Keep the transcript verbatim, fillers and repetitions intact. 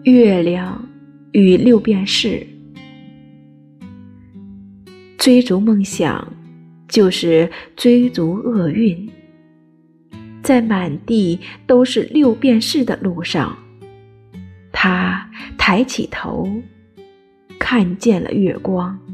月亮与六便士。追逐梦想就是追逐厄运，在满地都是六便士的路上，他抬起头，看见了月光。